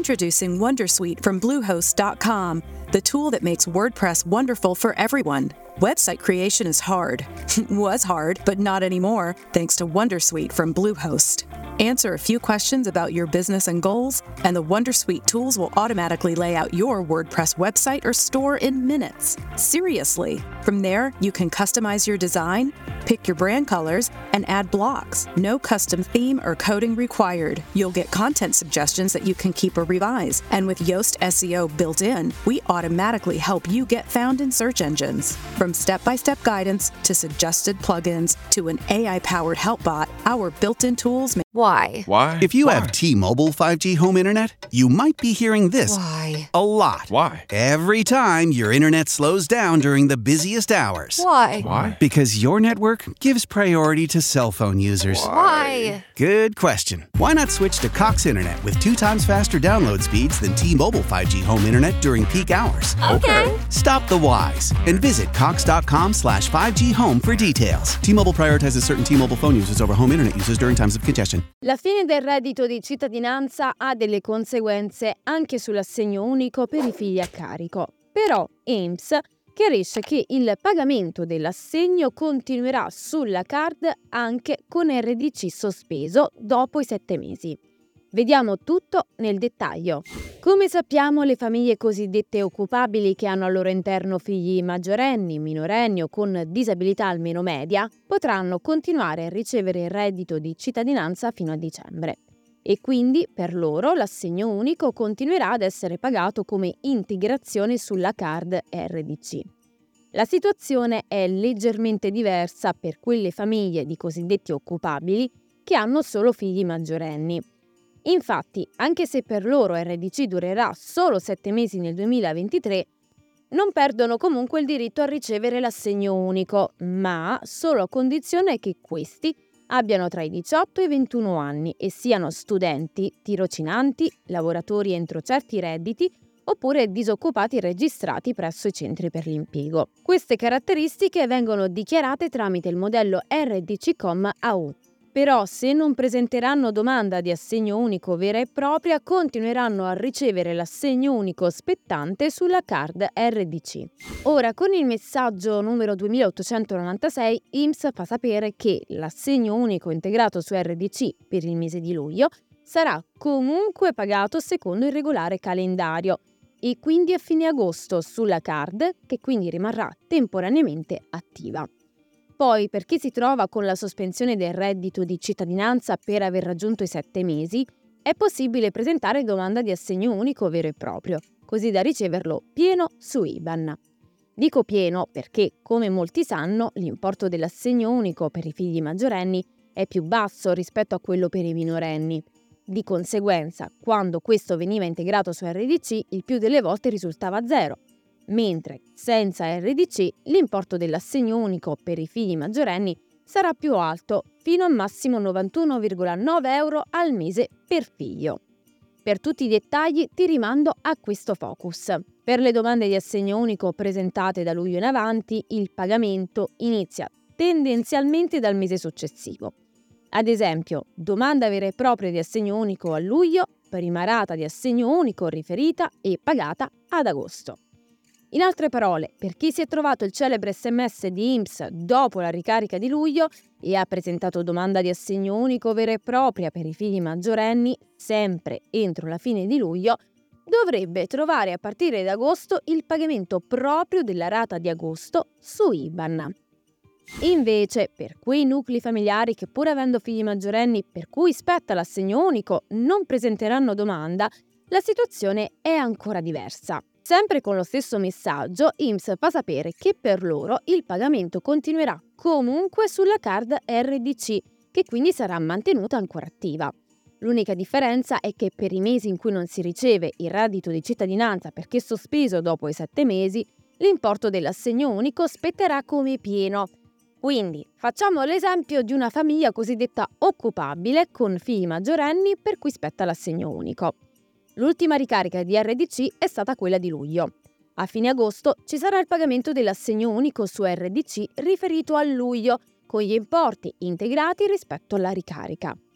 Introducing Wondersuite from Bluehost.com, the tool that makes WordPress wonderful for everyone. Website creation is hard. Was hard, but not anymore, thanks to Wondersuite from Bluehost. Answer a few questions about your business and goals, and the Wondersuite tools will automatically lay out your WordPress website or store in minutes. Seriously. From there, you can customize your design, pick your brand colors, and add blocks. No custom theme or coding required. You'll get content suggestions that you can keep or revise. And with Yoast SEO built in, we automatically help you get found in search engines. From step-by-step guidance to suggested plugins to an AI-powered help bot, our built-in tools make... Why? Why? If you have T-Mobile 5G home internet, you might be hearing this Why? a lot. Why? Every time your internet slows down during the busiest hours. Why? Why? Because your network gives priority to cell phone users. Why? Good question. Why not switch to Cox Internet with 2 times faster download speeds than T-Mobile 5G home internet during peak hours? Okay. Stop the whys and visit cox.com/5G home for details. T-Mobile prioritizes certain T-Mobile phone users over home internet users during times of congestion. La fine del reddito di cittadinanza ha delle conseguenze anche sull'assegno unico per i figli a carico. Però INPS chiarisce che il pagamento dell'assegno continuerà sulla card anche con RDC sospeso dopo i 7 mesi. Vediamo tutto nel dettaglio. Come sappiamo, le famiglie cosiddette occupabili che hanno al loro interno figli maggiorenni, minorenni o con disabilità almeno media potranno continuare a ricevere il reddito di cittadinanza fino a dicembre. E quindi per loro l'assegno unico continuerà ad essere pagato come integrazione sulla card RDC. La situazione è leggermente diversa per quelle famiglie di cosiddetti occupabili che hanno solo figli maggiorenni. Infatti, anche se per loro RDC durerà solo 7 mesi nel 2023, non perdono comunque il diritto a ricevere l'assegno unico, ma solo a condizione che questi abbiano tra i 18 e i 21 anni e siano studenti, tirocinanti, lavoratori entro certi redditi oppure disoccupati registrati presso i centri per l'impiego. Queste caratteristiche vengono dichiarate tramite il modello RDC-Com AU. Però se non presenteranno domanda di assegno unico vera e propria, continueranno a ricevere l'assegno unico spettante sulla card RDC. Ora, con il messaggio numero 2896, INPS fa sapere che l'assegno unico integrato su RDC per il mese di luglio sarà comunque pagato secondo il regolare calendario e quindi a fine agosto sulla card, che quindi rimarrà temporaneamente attiva. Poi, per chi si trova con la sospensione del reddito di cittadinanza per aver raggiunto i 7 mesi, è possibile presentare domanda di assegno unico vero e proprio, così da riceverlo pieno su IBAN. Dico pieno perché, come molti sanno, l'importo dell'assegno unico per i figli maggiorenni è più basso rispetto a quello per i minorenni. Di conseguenza, quando questo veniva integrato su RDC, il più delle volte risultava zero, mentre senza RDC l'importo dell'assegno unico per i figli maggiorenni sarà più alto, fino a massimo 91,9 euro al mese per figlio. Per tutti i dettagli ti rimando a questo focus. Per le domande di assegno unico presentate da luglio in avanti, il pagamento inizia tendenzialmente dal mese successivo. Ad esempio, domanda vera e propria di assegno unico a luglio, prima rata di assegno unico riferita e pagata ad agosto. In altre parole, per chi si è trovato il celebre SMS di INPS dopo la ricarica di luglio e ha presentato domanda di assegno unico vera e propria per i figli maggiorenni, sempre entro la fine di luglio, dovrebbe trovare a partire da agosto il pagamento proprio della rata di agosto su IBAN. Invece, per quei nuclei familiari che pur avendo figli maggiorenni per cui spetta l'assegno unico non presenteranno domanda, la situazione è ancora diversa. Sempre con lo stesso messaggio, INPS fa sapere che per loro il pagamento continuerà comunque sulla card RDC, che quindi sarà mantenuta ancora attiva. L'unica differenza è che per i mesi in cui non si riceve il reddito di cittadinanza perché sospeso dopo i 7 mesi, l'importo dell'assegno unico spetterà come pieno. Quindi, facciamo l'esempio di una famiglia cosiddetta occupabile con figli maggiorenni per cui spetta l'assegno unico. L'ultima ricarica di RDC è stata quella di luglio. A fine agosto ci sarà il pagamento dell'assegno unico su RDC riferito a luglio, con gli importi integrati rispetto alla ricarica.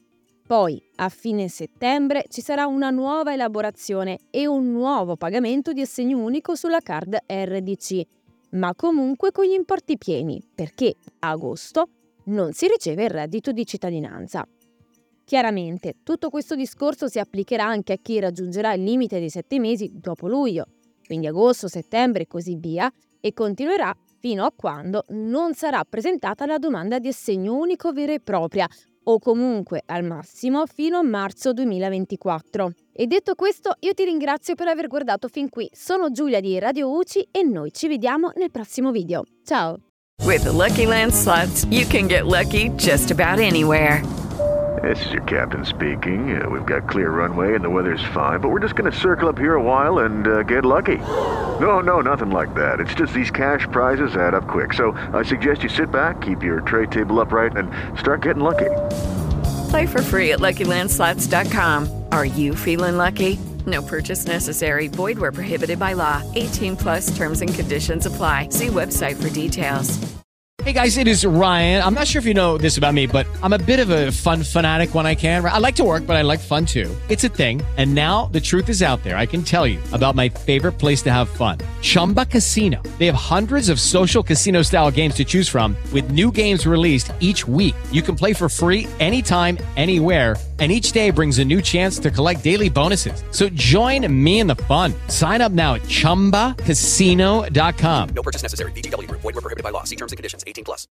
Poi, a fine settembre, ci sarà una nuova elaborazione e un nuovo pagamento di assegno unico sulla card RDC, ma comunque con gli importi pieni, perché a agosto non si riceve il reddito di cittadinanza. Chiaramente, tutto questo discorso si applicherà anche a chi raggiungerà il limite dei 7 mesi dopo luglio, quindi agosto, settembre e così via, e continuerà fino a quando non sarà presentata la domanda di assegno unico vera e propria, o comunque al massimo fino a marzo 2024. E detto questo, io ti ringrazio per aver guardato fin qui. Sono Giulia di Radio UCI e noi ci vediamo nel prossimo video. Ciao! With the Lucky Land Slots, you can get lucky just about anywhere. This is your captain speaking. We've got clear runway and the weather's fine, but we're just going to circle up here a while and get lucky. No, nothing like that. It's just these cash prizes add up quick. So I suggest you sit back, keep your tray table upright, and start getting lucky. Play for free at LuckyLandSlots.com. Are you feeling lucky? No purchase necessary. Void where prohibited by law. 18 plus terms and conditions apply. See website for details. Hey guys, it is Ryan. I'm not sure if you know this about me, but I'm a bit of a fun fanatic when I can. I like to work, but I like fun too. It's a thing. And now the truth is out there. I can tell you about my favorite place to have fun. Chumba Casino. They have hundreds of social casino style games to choose from with new games released each week. You can play for free anytime, anywhere. And each day brings a new chance to collect daily bonuses. So join me in the fun. Sign up now at ChumbaCasino.com. No purchase necessary. VGW Group. Void where prohibited by law. See terms and conditions. 18 plus.